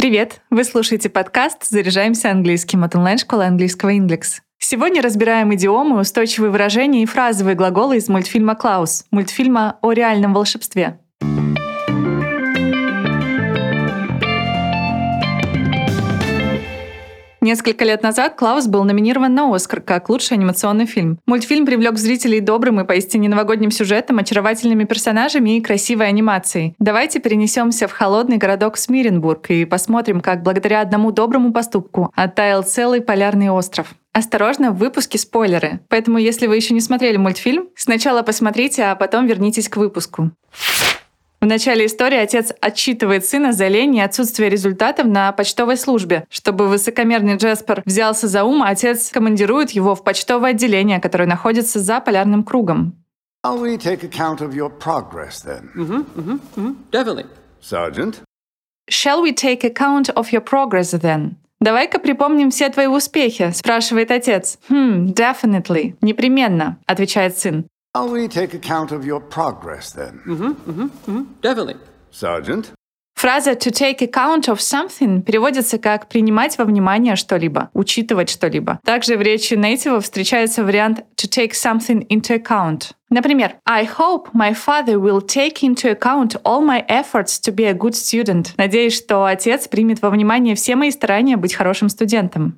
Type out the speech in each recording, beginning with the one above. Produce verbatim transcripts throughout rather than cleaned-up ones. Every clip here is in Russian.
Привет! Вы слушаете подкаст «Заряжаемся английским» от онлайн-школы английского Inglix. Сегодня разбираем идиомы, устойчивые выражения и фразовые глаголы из мультфильма «Клаус», мультфильма о реальном волшебстве. Несколько лет назад «Клаус» был номинирован на «Оскар» как лучший анимационный фильм. Мультфильм привлек зрителей добрым и поистине новогодним сюжетом, очаровательными персонажами и красивой анимацией. Давайте перенесемся в холодный городок Смиренбург и посмотрим, как благодаря одному доброму поступку оттаял целый полярный остров. Осторожно, в выпуске спойлеры. Поэтому, если вы еще не смотрели мультфильм, сначала посмотрите, а потом вернитесь к выпуску. В начале истории отец отчитывает сына за лень и отсутствие результатов на почтовой службе. Чтобы высокомерный Джеспер взялся за ум, отец командирует его в почтовое отделение, которое находится за полярным кругом. Shall we take account of your progress, then? Mm-hmm, mm-hmm, mm-hmm. Definitely. Sergeant? Shall we take account of your progress, then? «Давай-ка припомним все твои успехи», — спрашивает отец. «Хм, definitely. Непременно», — отвечает сын. Shall we take account of your progress, then? Mm-hmm, mm-hmm, mm-hmm. Definitely. Sergeant? Фраза «to take account of something» переводится как «принимать во внимание что-либо», «учитывать что-либо». Также в речи нейтивов встречается вариант «to take something into account». Например, «I hope my father will take into account all my efforts to be a good student». Надеюсь, что отец примет во внимание все мои старания быть хорошим студентом.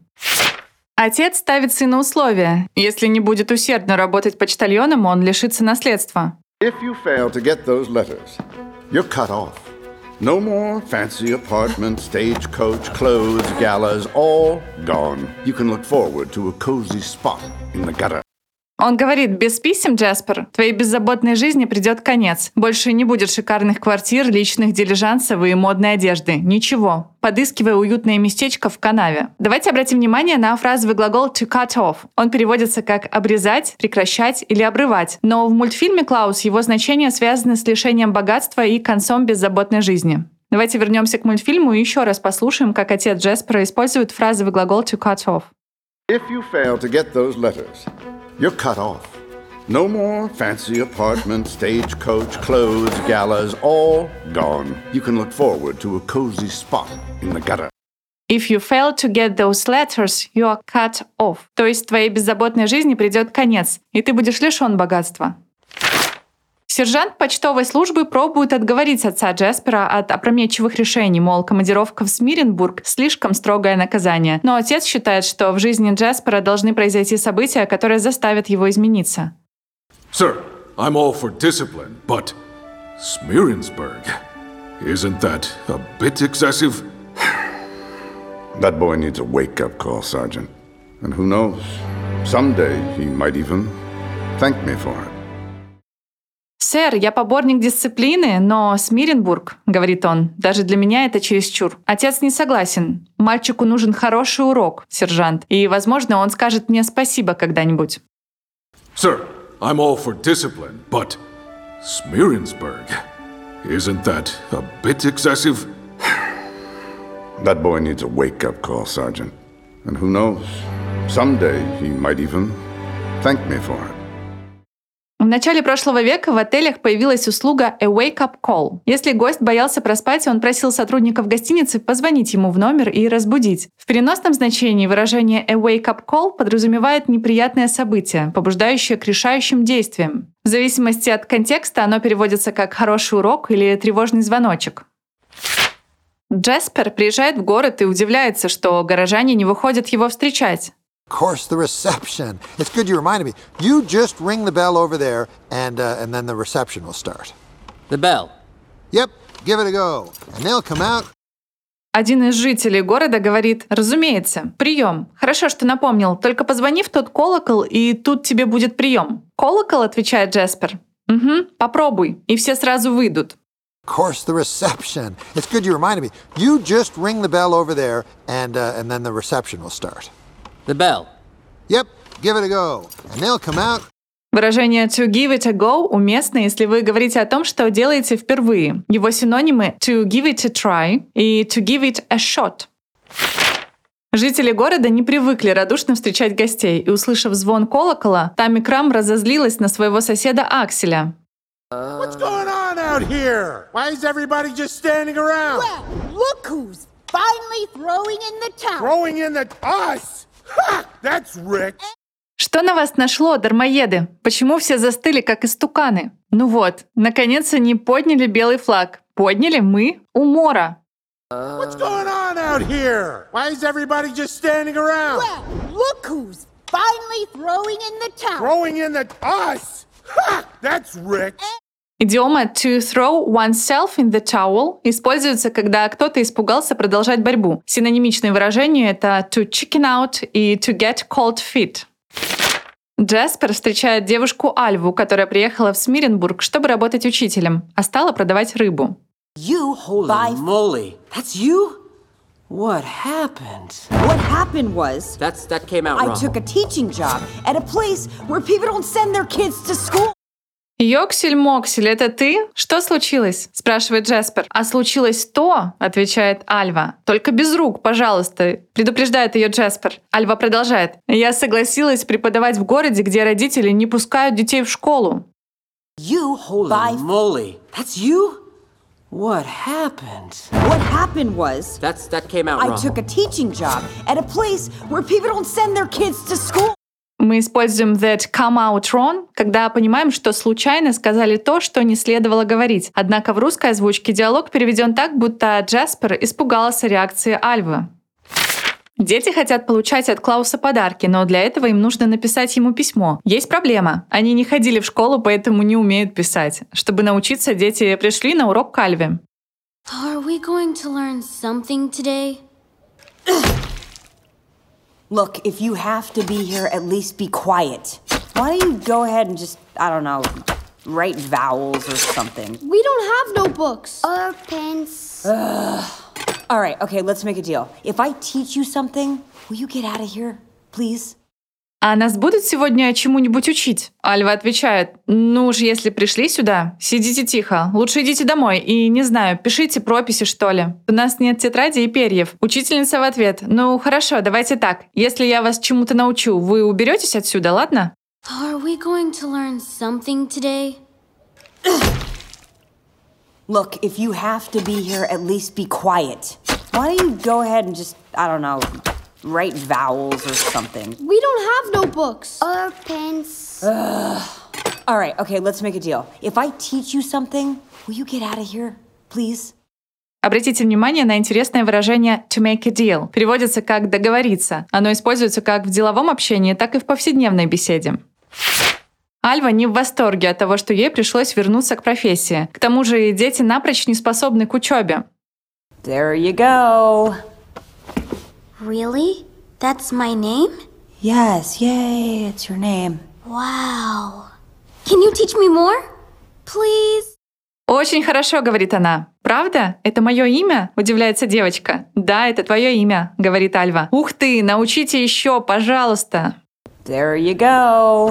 Отец ставит сыну условия. Если не будет усердно работать почтальоном, он лишится наследства. If you fail to get those letters, you're cut off. No more fancy apartment, stagecoach, clothes, galas, all gone. You can look forward to a cozy spot in the gutter. Он говорит: без писем, Джеспер, твоей беззаботной жизни придет конец. Больше не будет шикарных квартир, личных дилижансов и модной одежды. Ничего. Подыскивай уютное местечко в канаве. Давайте обратим внимание на фразовый глагол to cut off. Он переводится как обрезать, прекращать или обрывать. Но в мультфильме «Клаус» его значение связано с лишением богатства и концом беззаботной жизни. Давайте вернемся к мультфильму и еще раз послушаем, как отец Джеспера использует фразовый глагол to cut off. If you fail to get those letters, you're cut off. No more fancy apartment, stagecoach, clothes, galas, all gone. You can look forward to a cozy spot in the gutter. If you fail to get those letters, you are cut off. То есть твоей беззаботной жизни придет конец, и ты будешь лишен богатства. Сержант почтовой службы пробует отговорить отца Джеспера от опрометчивых решений, мол, командировка в Смиренбург — слишком строгое наказание. Но отец считает, что в жизни Джеспера должны произойти события, которые заставят его измениться. Sir, I'm all for discipline, but Smirensburg, isn't that a bit excessive? That boy needs a wake-up call, Sergeant. And who knows, someday he might even thank me for it. «Сэр, я поборник дисциплины, но Смиренбург, — говорит он, — даже для меня это чересчур. Отец не согласен. Мальчику нужен хороший урок, сержант, и, возможно, он скажет мне спасибо когда-нибудь». Sir, I'm all for discipline, but Smirensburg, isn't that a bit excessive? That boy needs a wake-up call, Sergeant. And who knows, someday he might even thank me for it. В начале прошлого века в отелях появилась услуга a wake-up call. Если гость боялся проспать, он просил сотрудников гостиницы позвонить ему в номер и разбудить. В переносном значении выражение a wake-up call подразумевает неприятное событие, побуждающее к решающим действиям. В зависимости от контекста оно переводится как «хороший урок» или «тревожный звоночек». Джеспер приезжает в город и удивляется, что горожане не выходят его встречать. Of course, the reception. It's good you reminded me. You just ring the bell over there, and uh, and then the reception will start. The bell. Yep, give it a go, and they'll come out. Один из жителей города говорит: «Разумеется, прием. Хорошо, что напомнил. Только позвони в тот колокол, и тут тебе будет прием». «Колокол?» — отвечает Джеспер. «Угу, попробуй». И все сразу выйдут. Of course, the reception. It's good you reminded me. You just ring the bell over there, and uh, and then the reception will start. The bell. Yep, give it a go, and they'll come out. Выражение to give it a go уместно, если вы говорите о том, что делаете впервые. Его синонимы to give it a try и to give it a shot. Жители города не привыкли радушно встречать гостей, и, услышав звон колокола, Тамми Крам разозлилась на своего соседа Акселя. What's going on out here? Why is everybody just standing around? Well, look who's finally throwing in the towel. Throwing in the us? Ha! That's Rick. Что на вас нашло, дармоеды? Почему все застыли, как истуканы? Ну вот, наконец они подняли белый флаг. Подняли мы у Мора. What's going on out here? Why is everybody just standing around? Well, look who's finally throwing in the towel. Throwing in the us? Ha! That's Rick. Идиома to throw oneself in the towel используется, когда кто-то испугался продолжать борьбу. Синонимичные выражения — это to chicken out и to get cold feet. Джаспер встречает девушку Альву, которая приехала в Смиренбург, чтобы работать учителем, а стала продавать рыбу. You Holy buy... moly. That's you? What happened? What happened was... That's, that came out I wrong. took a teaching job at a place where people don't send their kids to school. «Йоксель-моксель, это ты? Что случилось?» — спрашивает Джаспер. «А случилось то, — отвечает Альва, — только без рук, пожалуйста», — предупреждает ее Джаспер. Альва продолжает. «Я согласилась преподавать в городе, где родители не пускают детей в школу». You Holy buy... moly. That's you? What happened? What happened was... That's, that came out I wrong. took a teaching job at a place where people don't send their kids to school. Мы используем that come out wrong, когда понимаем, что случайно сказали то, что не следовало говорить. Однако в русской озвучке диалог переведен так, будто Джаспер испугался реакции Альвы. Дети хотят получать от Клауса подарки, но для этого им нужно написать ему письмо. Есть проблема. Они не ходили в школу, поэтому не умеют писать. Чтобы научиться, дети пришли на урок к Альве. Are we going to learn something today? Look, if you have to be here, at least be quiet. Why don't you go ahead and just, I don't know, write vowels or something? We don't have notebooks. Or pens. All right, okay, let's make a deal. If I teach you something, will you get out of here, please? А нас будут сегодня чему-нибудь учить? Альва отвечает. Ну уж если пришли сюда, сидите тихо. Лучше идите домой и, не знаю, пишите прописи, что ли. У нас нет тетради и перьев. Учительница в ответ. Ну хорошо, давайте так. Если я вас чему-то научу, вы уберетесь отсюда, ладно? Are we going to learn something today? Look, if you have to be here, at least be quiet. Why don't you go ahead and just, I don't know, write vowels or something? We don't have notebooks. Or pens. All right, okay, let's make a deal. If I teach you something, will you get out of here, please? Обратите внимание на интересное выражение to make a deal. Переводится как договориться. Оно используется как в деловом общении, так и в повседневной беседе. Альва не в восторге от того, что ей пришлось вернуться к профессии. К тому же дети напрочь не способны к учебе. There you go. Really? That's my name? Yes, yay, it's your name. Wow. Can you teach me more? Please? «Очень хорошо», — говорит она. «Правда? Это мое имя?» — удивляется девочка. «Да, это твое имя», — говорит Альва. «Ух ты, научите еще, пожалуйста». There you go.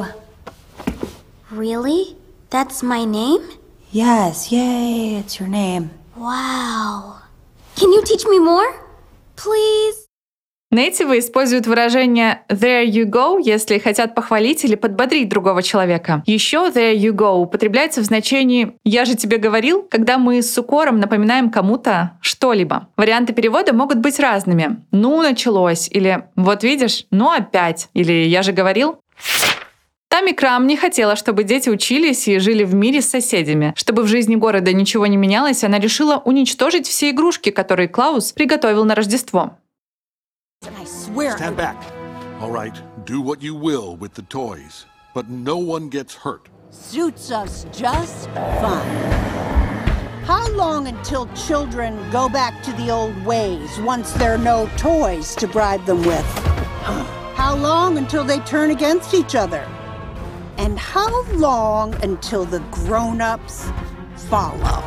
Really? That's my name? Yes, yay, it's your name. Wow. Can you teach me more? Please? Нейтивы используют выражение «there you go», если хотят похвалить или подбодрить другого человека. Еще «there you go» употребляется в значении «я же тебе говорил», когда мы с укором напоминаем кому-то что-либо. Варианты перевода могут быть разными. «Ну, началось» или «вот видишь, ну опять» или «я же говорил». Тамми Крам не хотела, чтобы дети учились и жили в мире с соседями. Чтобы в жизни города ничего не менялось, она решила уничтожить все игрушки, которые Клаус приготовил на Рождество. I swear. Stand back. All right, do what you will with the toys, but no one gets hurt. Suits us just fine. How long until children go back to the old ways once there are no toys to bribe them with? How long until they turn against each other? And how long until the grown-ups follow?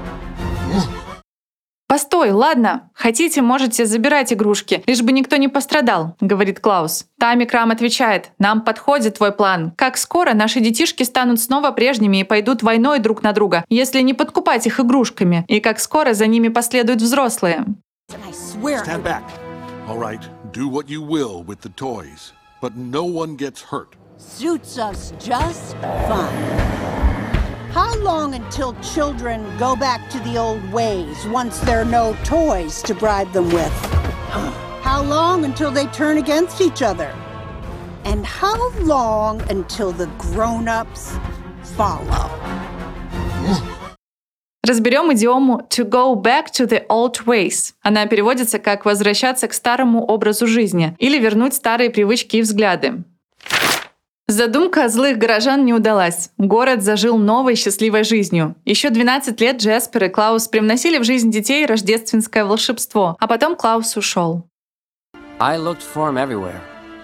«Постой, ладно. Хотите, можете забирать игрушки, лишь бы никто не пострадал», — говорит Клаус. Тамми Крам отвечает: «Нам подходит твой план. Как скоро наши детишки станут снова прежними и пойдут войной друг на друга, если не подкупать их игрушками, и как скоро за ними последуют взрослые». I swear. Stand back. All right, do what you will with the toys, but no one gets hurt. Suits us just fine. How long until children go back to the old ways once there are no toys to bribe them with? How long until they turn against each other? And how long until the grown-ups follow? Разберем идиому «to go back to the old ways». Она переводится как «возвращаться к старому образу жизни» или «вернуть старые привычки и взгляды». Задумка злых горожан не удалась. Город зажил новой счастливой жизнью. Еще двенадцать лет Джеспер и Клаус привносили в жизнь детей рождественское волшебство, а потом Клаус ушел. I looked for him everywhere.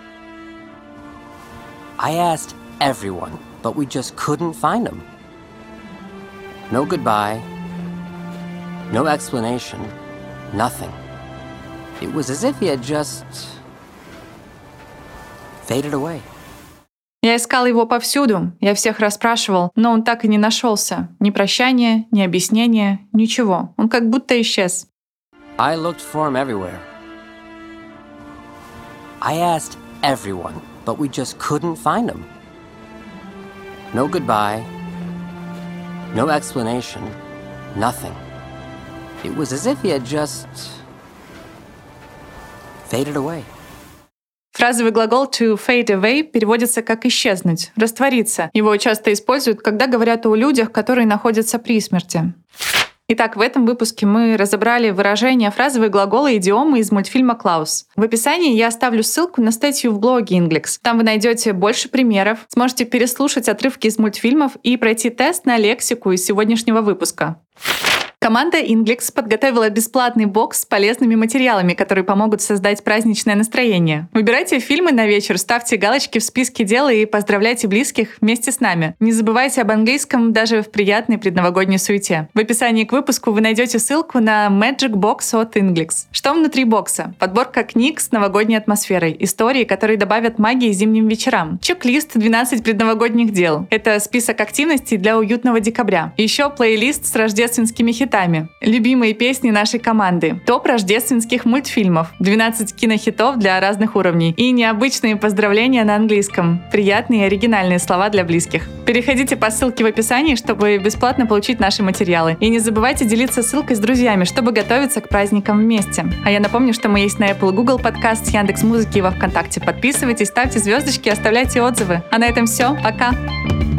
I asked everyone, but we just couldn't find him. No goodbye. No explanation. Nothing. It was as if he had just faded away. Я искал его повсюду, я всех расспрашивал, но он так и не нашелся. Ни прощания, ни объяснения, ничего. Он как будто исчез. I looked for him everywhere. I asked everyone, but we just couldn't find him. No goodbye. No explanation. Nothing. It was as if he had just faded away. Фразовый глагол to fade away переводится как «исчезнуть», «раствориться». Его часто используют, когда говорят о людях, которые находятся при смерти. Итак, в этом выпуске мы разобрали выражения, фразовые глаголы и идиомы из мультфильма «Клаус». В описании я оставлю ссылку на статью в блоге Inglix. Там вы найдете больше примеров, сможете переслушать отрывки из мультфильмов и пройти тест на лексику из сегодняшнего выпуска. Команда Inglix подготовила бесплатный бокс с полезными материалами, которые помогут создать праздничное настроение. Выбирайте фильмы на вечер, ставьте галочки в списке дел и поздравляйте близких вместе с нами. Не забывайте об английском даже в приятной предновогодней суете. В описании к выпуску вы найдете ссылку на Magic Box от Inglix. Что внутри бокса? Подборка книг с новогодней атмосферой, истории, которые добавят магии зимним вечерам. Чек-лист двенадцать предновогодних дел. Это список активностей для уютного декабря. Еще плейлист с рождественскими хитами. Любимые песни нашей команды. Топ рождественских мультфильмов. двенадцать кинохитов для разных уровней. И необычные поздравления на английском. Приятные и оригинальные слова для близких. Переходите по ссылке в описании, чтобы бесплатно получить наши материалы. И не забывайте делиться ссылкой с друзьями, чтобы готовиться к праздникам вместе. А я напомню, что мы есть на Apple и Google Podcast, Яндекс.Музыке и во Вконтакте. Подписывайтесь, ставьте звездочки, оставляйте отзывы. А на этом все. Пока!